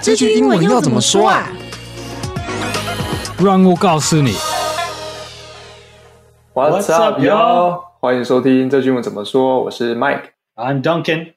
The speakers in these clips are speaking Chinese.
這句英文要怎麼說啊？ 讓我告訴你。 What's up, y'all？ 歡迎收聽這句英文怎麼說，我是 Mike。I'm Duncan.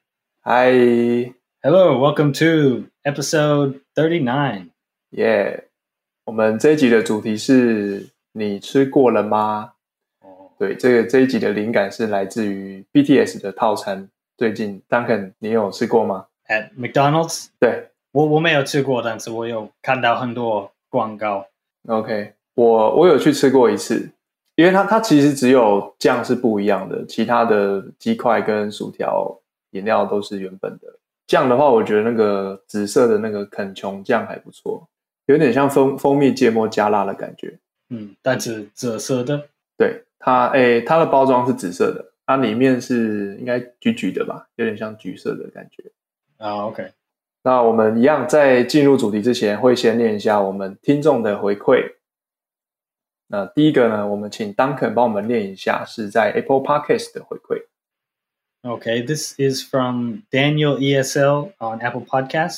Hi. Hello, welcome to episode 39. Yeah. 我們這一集的主題是你吃過了嗎？對，這一集的靈感是來自於 BTS 的套餐。最近 Duncan 你有吃過嗎？ At McDonald's? 對， 我沒有吃過，但是我有看到很多廣告。 OK， 我有去吃過一次，因為它其實只有醬是不一樣的，其他的雞塊跟薯條、飲料都是原本的。醬的話，我覺得那個紫色的那個肯瓊醬還不錯，有點像蜂蜜芥末加辣的感覺。 但是紫色的。 對，它的包裝是紫色的，它裡面是應該橘橘的吧，有點像橘色的感覺。 OK。 那我們一樣在進入主題之前，會先念一下我們聽眾的回饋。那第一個呢，我們請 Duncan 幫我們念一下，是在 Apple Podcast 的回饋。 Okay, this is from Daniel ESL on Apple Podcast,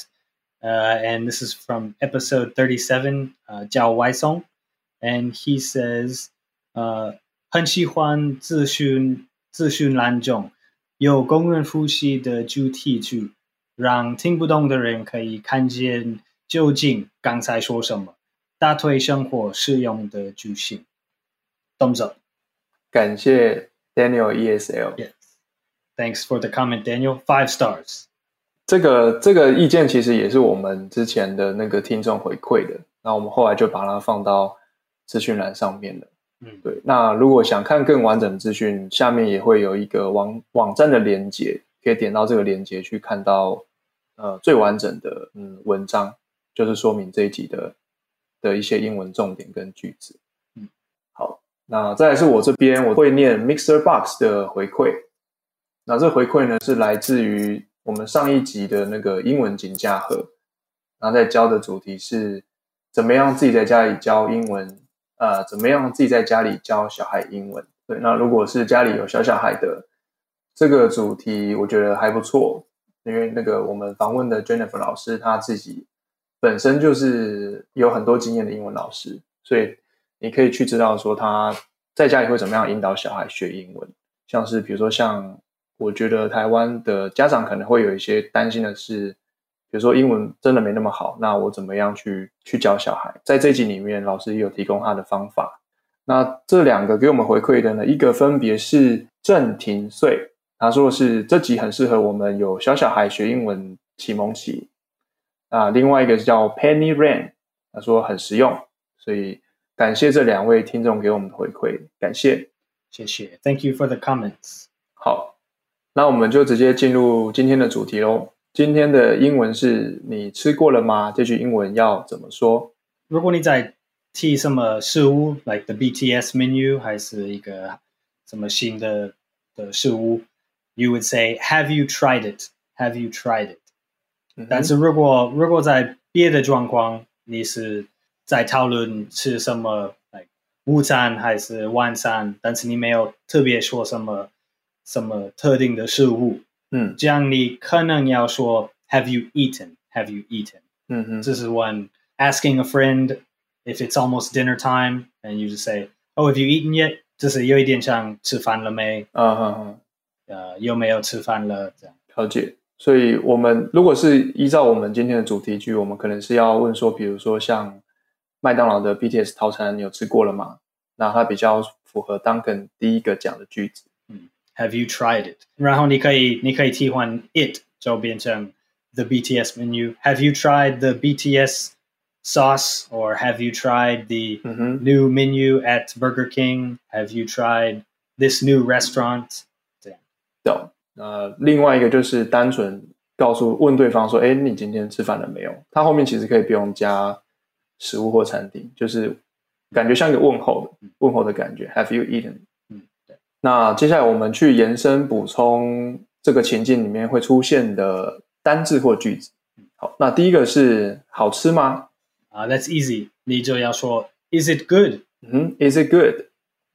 and this is from episode 37, 叫外送 and he says, 很喜歡資訊欄中有工人複習的主題句，讓聽不懂的人可以看見究竟剛才說什麼，大推生活適用的句型。Thumbs up. 感謝 Daniel ESL。Yes.Thanks for the comment, Daniel. 5 stars. 這個意見其實也是我們之前的那個聽眾回饋的，那我們後來就把它放到資訊欄上面了。對。那如果想看更完整的資訊，下面也會有一個網站的連結，可以點到這個連結去看到最完整的文章，就是說明這一集的一些英文重點跟句子。好，那再來是我這邊我會念 MixerBox 的回饋。那這回饋呢是來自於我們上一集的那個英文金架盒，然後在教的主題是怎麼樣自己在家裡教英文，怎麼樣自己在家裡教小孩英文。對，那如果是家裡有小孩的，這個主題我覺得還不錯，因為那個我們訪問的 Jennifer 老師她自己本身就是有很多經驗的英文老師，所以你可以去知道說她在家裡會怎麼樣引導小孩學英文，像是比如說像我覺得台灣的家長可能會有一些擔心的是，比如說英文真的沒那麼好，那我怎麼樣去教小孩。在這一集裡面老師也有提供他的方法。那這兩個給我們回饋的呢，一個分別是鄭庭穗，他說的是這集很適合我們有小孩學英文啟蒙期。另外一個是叫 Penny Rain， 他說很實用，所以感謝這兩位聽眾給我們的回饋，感謝。 謝謝 Thank you for the comments。 好，那我們就直接進入今天的主題咯。今天的英文是你吃過了嗎？這句英文要怎麼說？ 如果你在提什麼食物 like the BTS menu 還是一個什麼新的食物 you would say have you tried it? Have you tried it? 但是如果在別的狀況你是在討論吃什麼 like 午餐還是晚餐，但是你沒有特別說什麼特定的食物，這樣你可能要說 Have you eaten? Have you eaten? 這是 when asking a friend if it's almost dinner time and you just say Oh, have you eaten yet? 這是有一點像吃飯了沒？有沒有吃飯了？這樣。 了解。所以我們如果是依照我們今天的主題句，我們可能是要問說，比如說像麥當勞的 BTS 套餐，你有吃過了嗎？那它比較符合 Duncan 第一個講的句子。 Have you tried it? 然後你可以替換 it 就變成 the BTS menu. Have you tried the BTS sauce? Or have you tried the new menu at Burger King? Have you tried this new restaurant? 這樣。 懂。另外一個就是單純問對方說，誒，你今天吃飯了沒有？他後面其實可以不用加食物或餐廳，就是感覺像一個問候的感覺。Have you eaten? 那接下來我們去延伸補充這個情境裡面會出現的單字或句子。好，那第一個是好吃嗎 ？That's easy. 你就要說 Is it good? Is it good?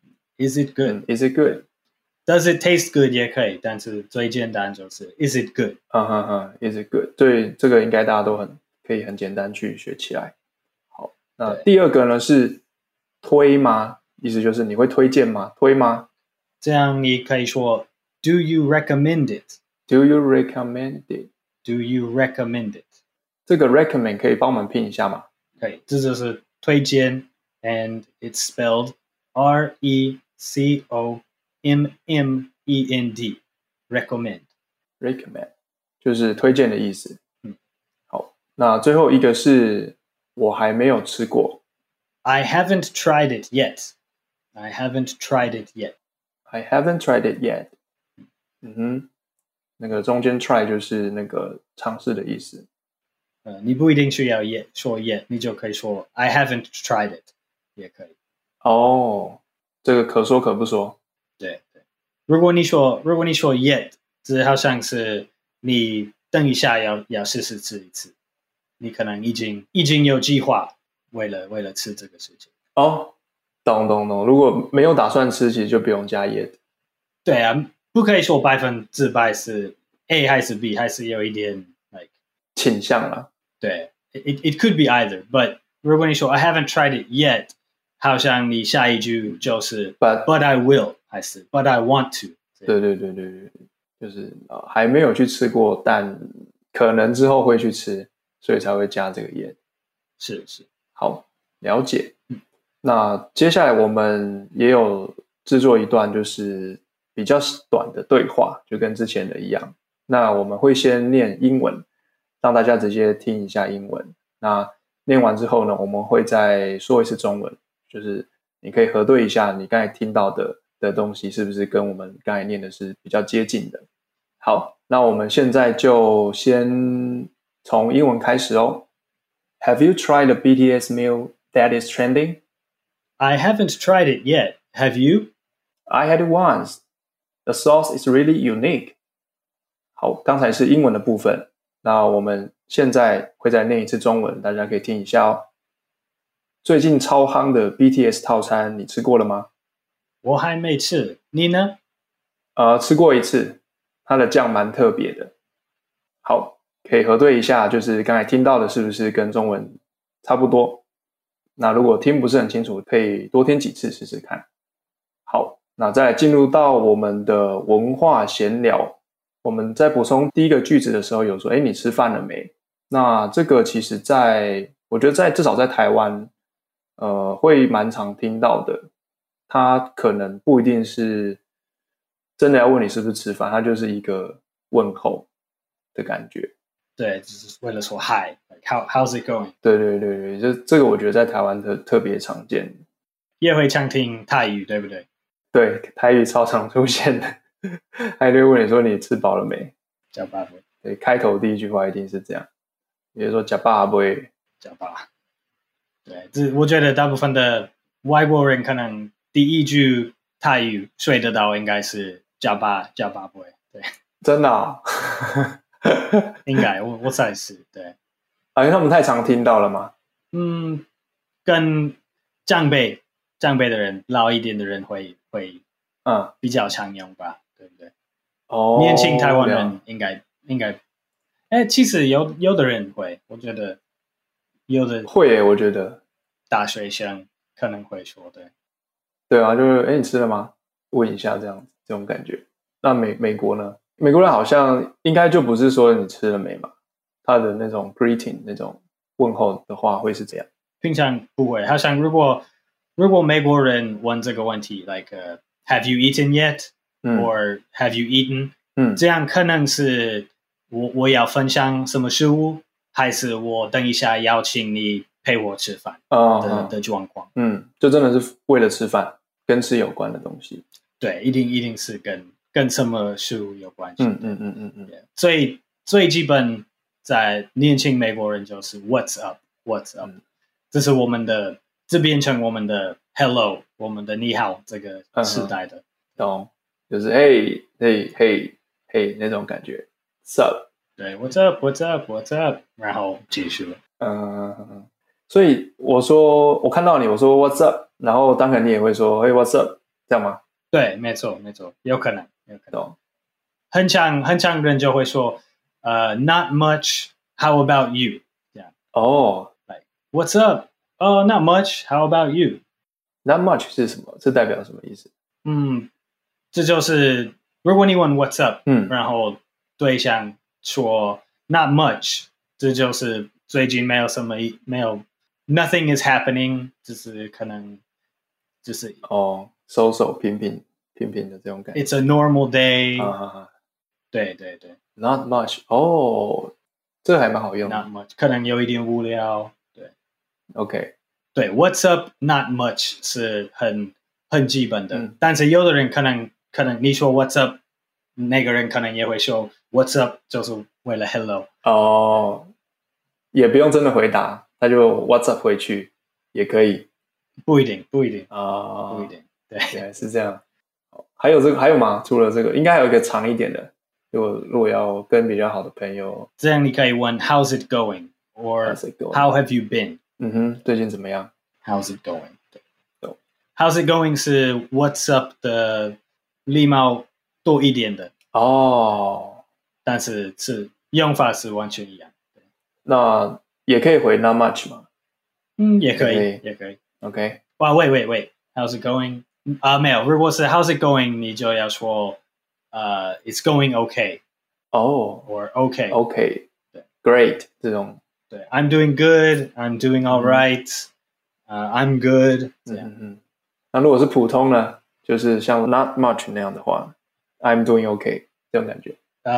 Is it good? Is it good? Does it taste good 也可以，但是最簡單就是 Is it good? Is it good? 对，這個應該大家都可以很簡單去學起來。好，那第二個呢是推嗎？意思就是你會推薦嗎？推嗎？ 這樣你可以說 Do you recommend it? Do you recommend it? Do you recommend it? 這個 recommend 可以幫我們拼一下嗎？ 可以，這就是推薦 and it's spelled R-E-C-O-M-M-E-N-D recommend. Recommend 就是推薦的意思。好，那最後一個是我還沒有吃過。 I haven't tried it yet. I haven't tried it yet. I haven't tried it yet. 那個中間 try 就是那個嘗試的意思。 你不一定需要 yet 說 yet， 你就可以說 I haven't tried it 也可以。 這個可說可不說。 對。如果你說 yet， 這好像是你等一下要試試吃一次，你可能已經有計劃為了吃這個事情。 懂。如果沒有打算吃，其實就不用加 yet。 對啊，不可以說100%是 A 還是 B， 還是有一點 like 傾向啦。對 ，it could be either。But 如果你說 I haven't tried it yet， 好像你下一句就是 But I will， 還是 But I want to。 对，就是還沒有去吃過，但可能之後會去吃，所以才會加這個 yet。 是， 好，了解。那接下來我們也有製作一段就是比較短的對話，就跟之前的一樣。那我們會先念英文，讓大家直接聽一下英文。那念完之後呢，我們會再說一次中文，就是你可以核對一下你剛才聽到的東西是不是跟我們剛才念的是比較接近的。好，那我們現在就先從英文開始哦。Have you tried the BTS meal that is trending? I haven't tried it yet. Have you? I had it once. The sauce is really unique. 好，剛才是英文的部分，那我們現在會再念一次中文，大家可以聽一下哦。最近超夯的 BTS 套餐，你吃過了嗎？ 我還沒吃，你呢？ 吃過一次，它的醬蠻特別的。好，可以核對一下，就是剛才聽到的是不是跟中文差不多？那如果聽不是很清楚，可以多聽幾次試試看。好，那再來進入到我們的文化閒聊。我們在補充第一個句子的時候有說，你吃飯了沒？那這個其實我覺得至少在台灣，會蠻常聽到的。它可能不一定是真的要問你是不是吃飯，它就是一個問候的感覺。 對，就是為了說 Hi, like how's it going？ 對，就這個我覺得在台灣特別常見。 也會常聽泰語，對不對？對， 台語超常出現的。還會問你說你吃飽了沒？ 吃飽沒？ 對，開頭第一句話一定是這樣，比如說吃飽沒？ 吃飽。對，我覺得大部分的外國人可能第一句泰語睡得到應該是吃飽沒？對， 真的啊？ 應該我猜是對。 因為他們太常聽到了嗎？ 跟長輩的人，老一點的人會比較常用吧，對不對？年輕台灣人應該，其實有的人會，我覺得有的會耶，我覺得大學生可能會說， 對啊，就是你吃了嗎？問一下這樣子，這種感覺。那美國呢？美國人好像應該就不是說你吃了沒嘛，他的那種 greeting 那種問候的話會是這樣。 平常不會，好像如果美國人問這個問題 ，like have you eaten yet？or have you eaten？這樣可能是我要分享什麼食物，還是我等一下邀請你陪我吃飯的狀況。 就真的是為了吃飯，跟吃有關的東西。對， 一定是跟什麼食物有關係。最基本在年輕美國人就是 What's up？ 這是我們的，這變成我們的 Hello， 我們的你好這個時代的。 懂，就是 Hey 那種感覺。What's up？ 對 ，What's up？ 然後結束了。 所以我看到你，我說 What's up？ 然後當然你也會說 Hey What's up？ 這樣嗎？對， 沒錯，有可能。很常人就會說Not much. How about you？ 這樣 Like what's up? Oh, not much. How about you? Not much 是什麼？這代表什麼意思？ 這就是如果你問 what's up，然後對象說 not much，這就是最近沒有什麼，nothing is happening，就是可能就是收平平的這種感覺。 It's a normal day。對。 Not much，這還蠻好用的。 Not much，可能有一點無聊。對 ，OK。 對 ，What's up? Not much 是很基本的，但是有的人可能你說 What's up， 那個人可能也會說 What's up， 就是為了 Hello。 也不用真的回答，他就 What's up 回去也可以。 不一定。不一定。對， 原來是這樣。還有嗎？除了這個，應該還有一個長一點的。如果要跟比較好的朋友， 這樣你可以問 How's it going? Or How have you been? 最近怎麼樣 ？How's it going? 對 How's it going 是 What's up 的禮貌多一點的但是用法是完全一樣。 那也可以回 Not much 嗎？ 也可以。 OK。 哇 wait How's it going? 沒有，如果是 How's it going 你就要說It's going okay. Or okay. 對 Great 這種。 對 I'm doing good, I'm doing all right, I'm good 這樣。 那如果是普通呢，就是像 not much 那樣的話 I'm doing okay 這種感覺。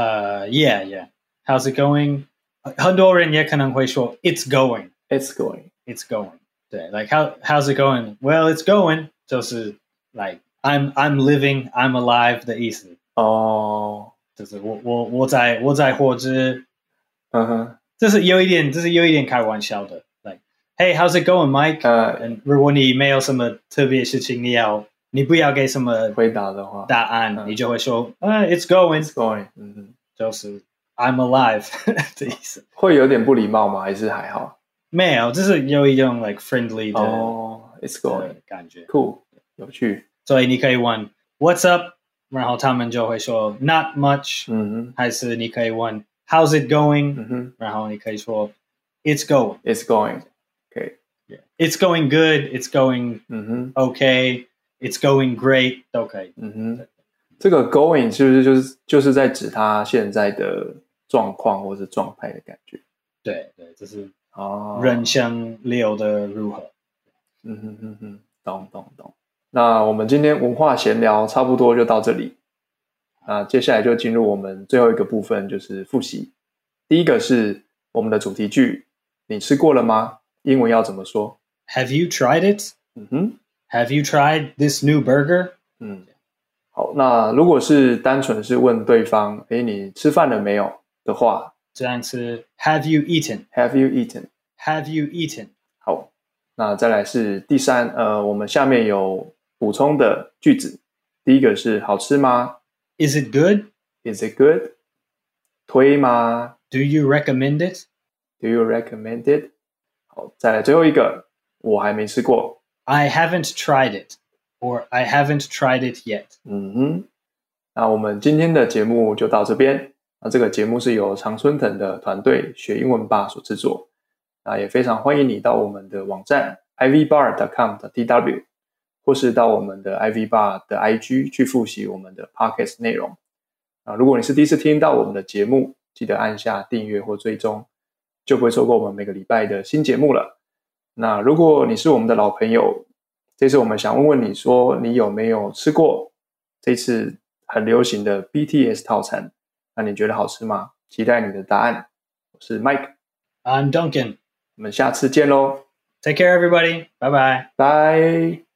Yeah. How's it going? 很多人也可能會說 It's going.對 like how's it going? Well, it's going 就是 like I'm living, I'm alive 的意思。就是我在活着。這是有一點開玩笑的 like Hey, how's it going, Mike? 如果你沒有什麼特別事情你不要給什麼回答的話答案你就會說It's going. 就是 I'm alive 的意思。 會有點不禮貌嗎？還是還好？ 沒有，這是有一種 like friendly 的 It's going 的感覺。 Cool， 有趣。 所以你可以問 What's up? 然後他們就會說 Not much。還是你可以問How's it going? 然後你可以說 It's going. Okay. Yeah. It's going good. It's going okay. It's going great. 都可以。 這個 going 是不是就是在指他現在的狀況或是狀態的感覺？ 對，這是人生流的如何？ 懂。那我們今天文化閒聊差不多就到這裡。那接下來就進入我們最後一個部分，就是複習。第一個是我們的主題句，你吃過了嗎？英文要怎麼說？ Have you tried it? Have you tried this new burger? 好，那如果是單純是問對方，你吃飯了沒有的話， 這樣是 Have you eaten? Have you eaten? Have you eaten? 好，那再來是第三，我們下面有補充的句子。第一個是好吃嗎？ Is it good? Is it good? 推嗎？ Do you recommend it? Do you recommend it? 好，再來最後一個，我還沒吃過。 I haven't tried it, or I haven't tried it yet. 那我們今天的節目就到這邊。那這個節目是由常春藤的團隊學英文吧所製作。那也非常歡迎你到我們的網站 ivbar.com.tw 或是到我們的 ivbar 的 IG 去複習我們的 podcast 內容。如果你是第一次聽到我們的節目，記得按下訂閱或追蹤，就不會錯過我們每個禮拜的新節目了。那如果你是我們的老朋友，這次我們想問問你說，你有沒有吃過這次很流行的 BTS 套餐？那你覺得好吃嗎？期待你的答案。我是 Mike，I'm Duncan， 我們下次見咯。 Take care everybody， 拜拜。 拜。